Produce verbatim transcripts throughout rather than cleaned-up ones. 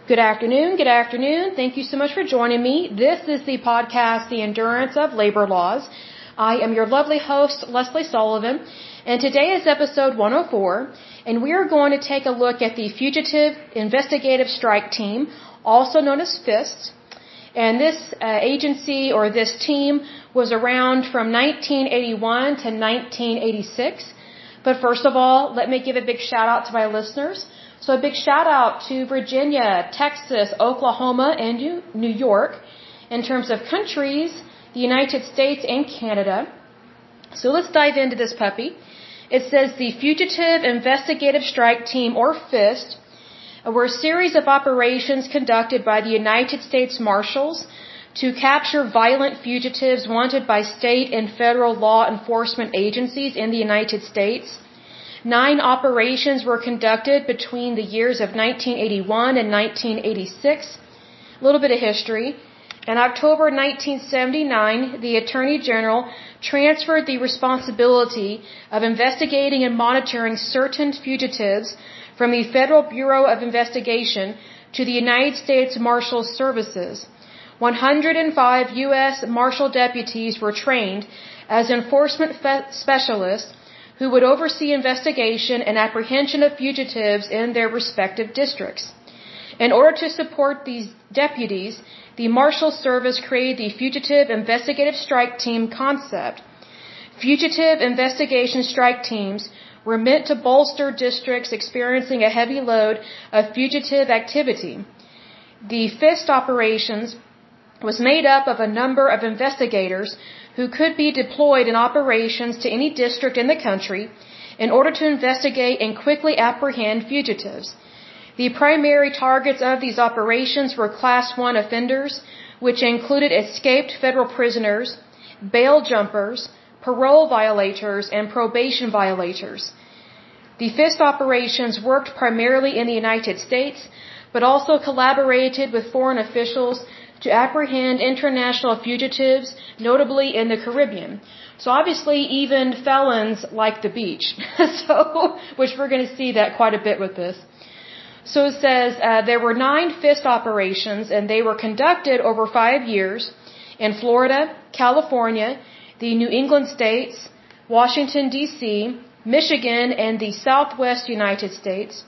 Good afternoon, good afternoon. Thank you so much for joining me. This is the podcast, The Endurance of Labor Laws. I am your lovely host, Leslie Sullivan, and today is episode one oh four, and we are going to take a look at the Fugitive Investigative Strike Team, also known as FIST. And this uh, agency or this team was around from nineteen eighty-one to nineteen eighty-six. But first of all, let me give a big shout out to my listeners. So a big shout out to Virginia, Texas, Oklahoma, and New York. In terms of countries, the United States and Canada. So let's dive into this puppy. It says the Fugitive Investigative Strike Team, or FIST, were a series of operations conducted by the United States Marshals to capture violent fugitives wanted by state and federal law enforcement agencies in the United States. Nine operations were conducted between the years of nineteen eighty-one and nineteen eighty-six. A little bit of history. In October nineteen seventy-nine, the Attorney General transferred the responsibility of investigating and monitoring certain fugitives from the Federal Bureau of Investigation to the United States Marshal Services. one hundred five U S Marshal deputies were trained as enforcement specialists who would oversee investigation and apprehension of fugitives in their respective districts. In order to support these deputies, the Marshal Service created the Fugitive Investigative Strike Team concept. Fugitive investigation strike teams were meant to bolster districts experiencing a heavy load of fugitive activity. The FIST operations was made up of a number of investigators who could be deployed in operations to any district in the country in order to investigate and quickly apprehend fugitives. The primary targets of these operations were Class one offenders, which included escaped federal prisoners, bail jumpers, parole violators, and probation violators. The FIST operations worked primarily in the United States, but also collaborated with foreign officials to apprehend international fugitives, notably in the Caribbean. So obviously even felons like the beach, so which we're going to see that quite a bit with this. So it says uh, there were nine FIST operations, and they were conducted over five years in Florida, California, the New England states, Washington, D C, Michigan, and the Southwest United States.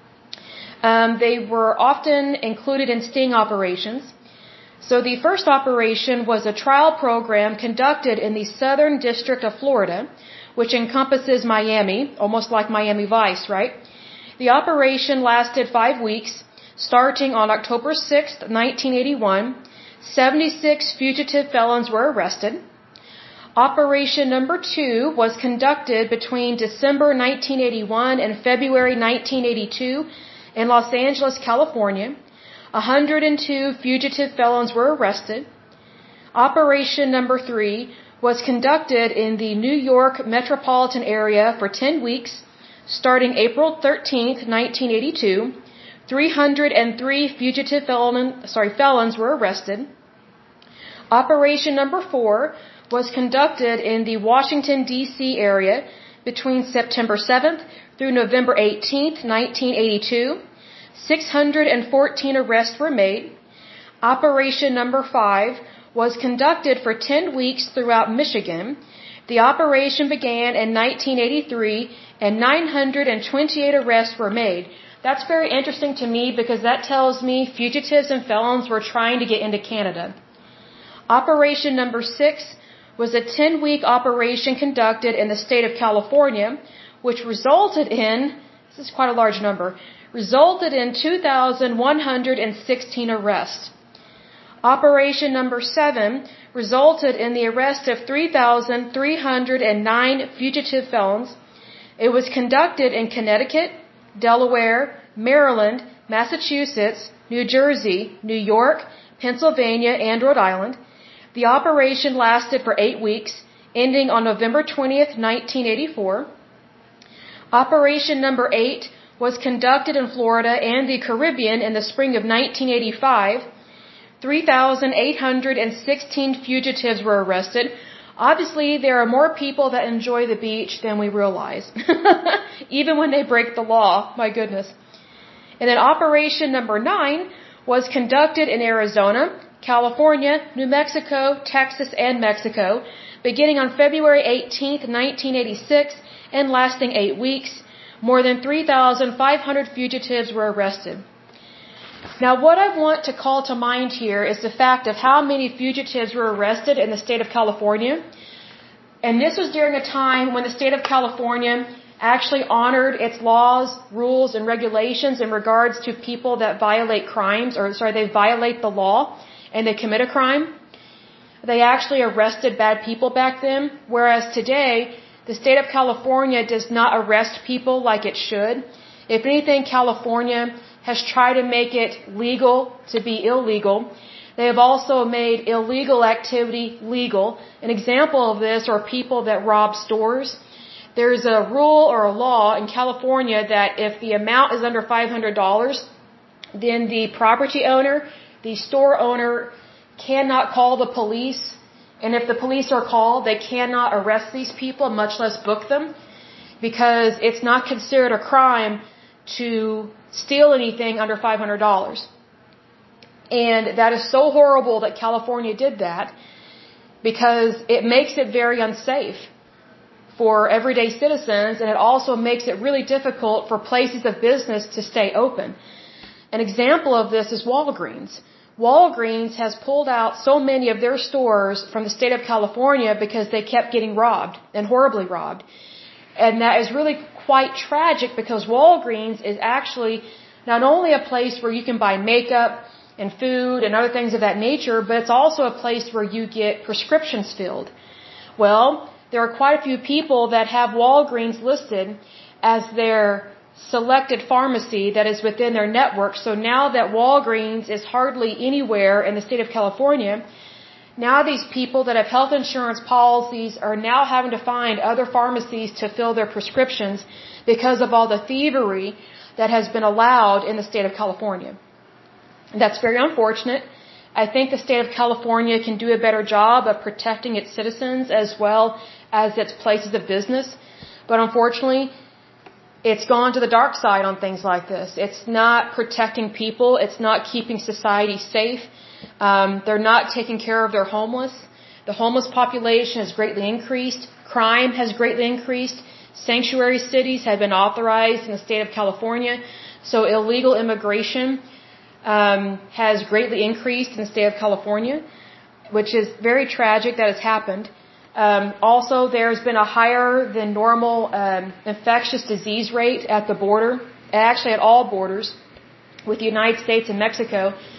Um, they were often included in sting operations. So the first operation was a trial program conducted in the Southern District of Florida, which encompasses Miami, almost like Miami Vice, right? The operation lasted five weeks, starting on October sixth, nineteen eighty-one. seventy-six fugitive felons were arrested. Operation number two was conducted between December nineteen eighty-one and February nineteen eighty-two in Los Angeles, California. one hundred two fugitive felons were arrested. Operation number three was conducted in the New York metropolitan area for ten weeks, starting April thirteenth, nineteen eighty-two. three hundred three fugitive felon, sorry, felons were arrested. Operation number four was conducted in the Washington, D C area between September seventh through November eighteenth, nineteen eighty-two. six hundred fourteen arrests were made. Operation number five was conducted for ten weeks throughout Michigan. The operation began in nineteen eighty-three and nine hundred twenty-eight arrests were made. That's very interesting to me because that tells me fugitives and felons were trying to get into Canada. Operation number six was a ten-week operation conducted in the state of California, which resulted in, this is quite a large number, resulted in two thousand one hundred sixteen arrests. Operation number seven resulted in the arrest of three thousand three hundred nine fugitive felons. It was conducted in Connecticut, Delaware, Maryland, Massachusetts, New Jersey, New York, Pennsylvania, and Rhode Island. The operation lasted for eight weeks, ending on November twentieth, nineteen eighty-four. Operation number eight was conducted in Florida and the Caribbean in the spring of nineteen eighty-five. three thousand eight hundred sixteen fugitives were arrested. Obviously, there are more people that enjoy the beach than we realize, even when they break the law. My goodness. And then Operation number nine was conducted in Arizona, California, New Mexico, Texas, and Mexico, beginning on February eighteenth, nineteen eighty-six, and lasting eight weeks. More than three thousand five hundred fugitives were arrested. Now, what I want to call to mind here is the fact of how many fugitives were arrested in the state of California. And this was during a time when the state of California actually honored its laws, rules, and regulations in regards to people that violate crimes, or sorry, they violate the law and they commit a crime. They actually arrested bad people back then, whereas today, the state of California does not arrest people like it should. If anything, California has tried to make it legal to be illegal. They have also made illegal activity legal. An example of this are people that rob stores. There's a rule or a law in California that if the amount is under five hundred dollars, then the property owner, the store owner, cannot call the police. And if the police are called, they cannot arrest these people, much less book them, because it's not considered a crime to steal anything under five hundred dollars. And that is so horrible that California did that, because it makes it very unsafe for everyday citizens, and it also makes it really difficult for places of business to stay open. An example of this is Walgreens. Walgreens has pulled out so many of their stores from the state of California because they kept getting robbed, and horribly robbed. And that is really quite tragic, because Walgreens is actually not only a place where you can buy makeup and food and other things of that nature, but it's also a place where you get prescriptions filled. Well, there are quite a few people that have Walgreens listed as their selected pharmacy that is within their network. So now that Walgreens is hardly anywhere in the state of California, now these people that have health insurance policies are now having to find other pharmacies to fill their prescriptions because of all the thievery that has been allowed in the state of California. That's very unfortunate. I think the state of California can do a better job of protecting its citizens as well as its places of business. But unfortunately, it's gone to the dark side on things like this. It's not protecting people. It's not keeping society safe. Um, they're not taking care of their homeless. The homeless population has greatly increased. Crime has greatly increased. Sanctuary cities have been authorized in the state of California. So illegal immigration um, has greatly increased in the state of California, which is very tragic that has happened. Um, also, there's been a higher than normal um, infectious disease rate at the border, actually at all borders, with the United States and Mexico,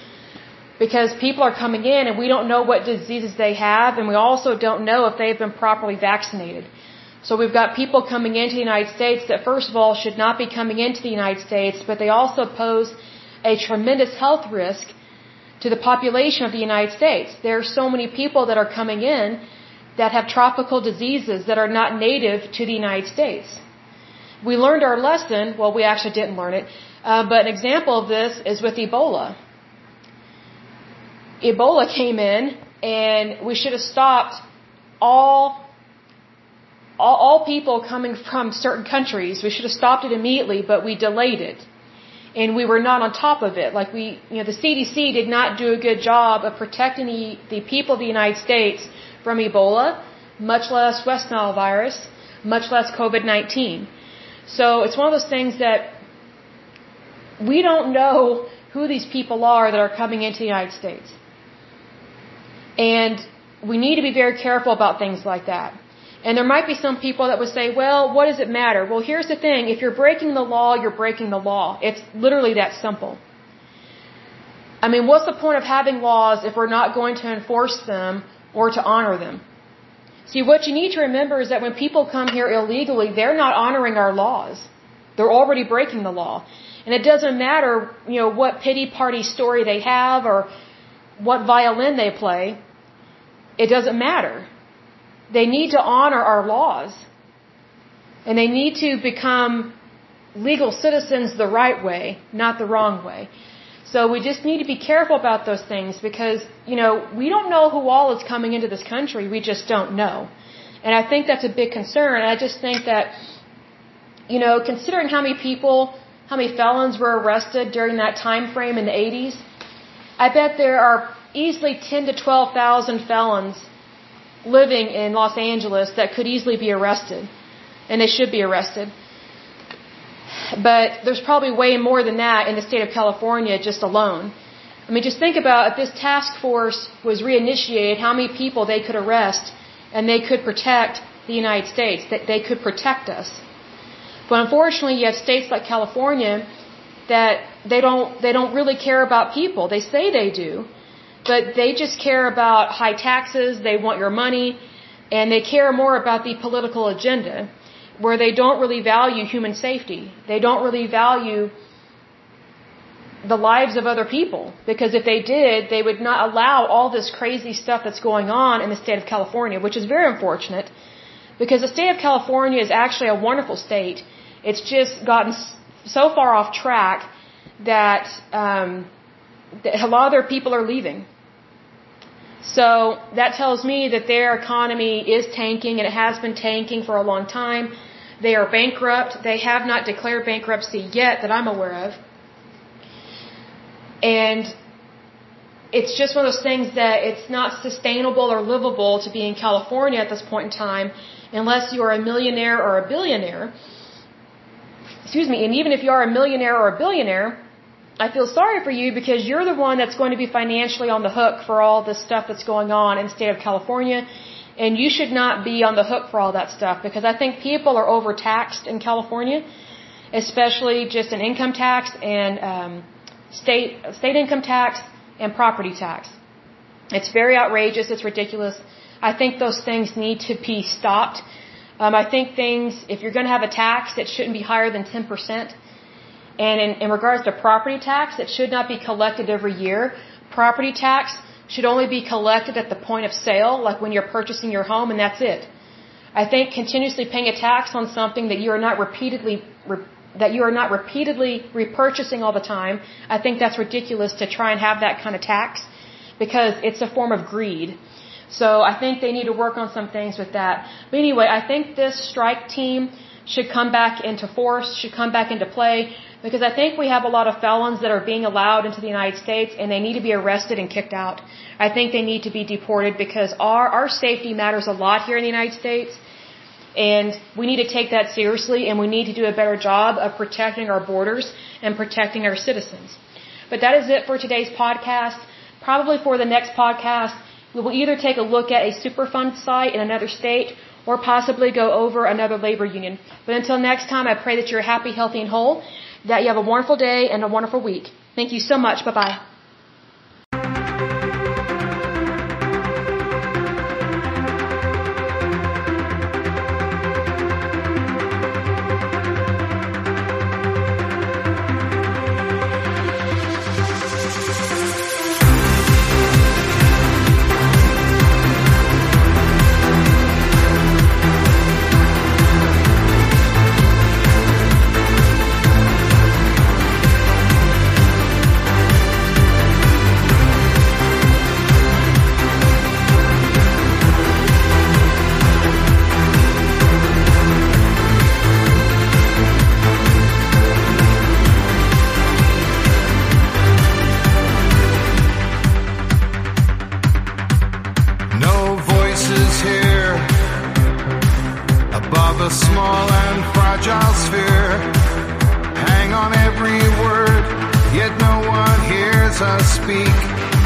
because people are coming in and we don't know what diseases they have, and we also don't know if they've been properly vaccinated. So we've got people coming into the United States that, first of all, should not be coming into the United States, but they also pose a tremendous health risk to the population of the United States. There are so many people that are coming in that have tropical diseases that are not native to the United States. We learned our lesson. Well, we actually didn't learn it. Uh, but an example of this is with Ebola. Ebola came in, and we should have stopped all, all, all people coming from certain countries. We should have stopped it immediately, but we delayed it. And we were not on top of it. Like we, you know, the C D C did not do a good job of protecting the, the people of the United States from Ebola, much less West Nile virus, much less COVID nineteen. So it's one of those things that we don't know who these people are that are coming into the United States. And we need to be very careful about things like that. And there might be some people that would say, well, what does it matter? Well, here's the thing. If you're breaking the law, you're breaking the law. It's literally that simple. I mean, what's the point of having laws if we're not going to enforce them or to honor them? See, what you need to remember is that when people come here illegally, they're not honoring our laws. They're already breaking the law. And it doesn't matter, you know, what pity party story they have or what violin they play. It doesn't matter. They need to honor our laws. And they need to become legal citizens the right way, not the wrong way. So we just need to be careful about those things because, you know, we don't know who all is coming into this country. We just don't know. And I think that's a big concern. And I just think that, you know, considering how many people, how many felons were arrested during that time frame in the eighties, I bet there are easily ten to twelve thousand felons living in Los Angeles that could easily be arrested, and they should be arrested. But there's probably way more than that in the state of California just alone. I mean, just think about if this task force was reinitiated, how many people they could arrest and they could protect the United States, that they could protect us. But unfortunately, you have states like California that they don't they don't really care about people. They say they do, but they just care about high taxes, they want your money, and they care more about the political agenda, where they don't really value human safety. They don't really value the lives of other people, because if they did, they would not allow all this crazy stuff that's going on in the state of California, which is very unfortunate, because the state of California is actually a wonderful state. It's just gotten so far off track that, um, that a lot of their people are leaving. So that tells me that their economy is tanking, and it has been tanking for a long time. They are bankrupt. They have not declared bankruptcy yet that I'm aware of. And it's just one of those things that it's not sustainable or livable to be in California at this point in time unless you are a millionaire or a billionaire. Excuse me, and even if you are a millionaire or a billionaire, I feel sorry for you, because you're the one that's going to be financially on the hook for all this stuff that's going on in the state of California, and you should not be on the hook for all that stuff, because I think people are overtaxed in California, especially just in income tax and um, state state income tax and property tax. It's very outrageous. It's ridiculous. I think those things need to be stopped. Um, I think things, if you're going to have a tax, it shouldn't be higher than ten percent. And in, in regards to property tax, it should not be collected every year. Property tax should only be collected at the point of sale, like when you're purchasing your home, and that's it. I think continuously paying a tax on something that you are not repeatedly re, that you are not repeatedly repurchasing all the time, I think that's ridiculous to try and have that kind of tax, because it's a form of greed. So I think they need to work on some things with that. But anyway, I think this strike team should come back into force, should come back into play, because I think we have a lot of felons that are being allowed into the United States, and they need to be arrested and kicked out. I think they need to be deported, because our, our safety matters a lot here in the United States, and we need to take that seriously, and we need to do a better job of protecting our borders and protecting our citizens. But that is it for today's podcast. Probably for the next podcast, we will either take a look at a Superfund site in another state, or possibly go over another labor union. But until next time, I pray that you're happy, healthy, and whole, that you have a wonderful day and a wonderful week. Thank you so much. Bye-bye. A small and fragile sphere, hang on every word, yet no one hears us speak.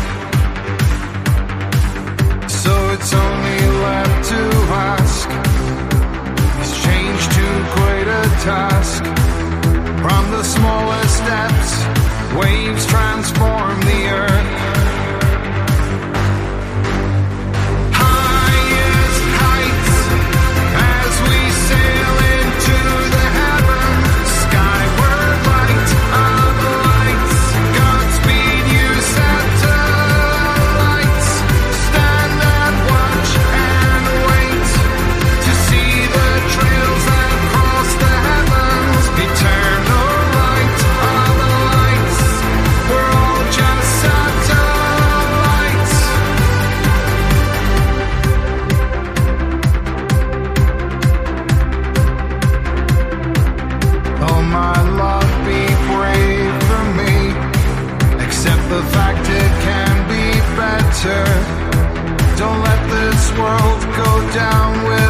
So it's only left to ask, is change too great a task? From the smallest steps, waves transform the earth. Eternal light of the lights, we're all down with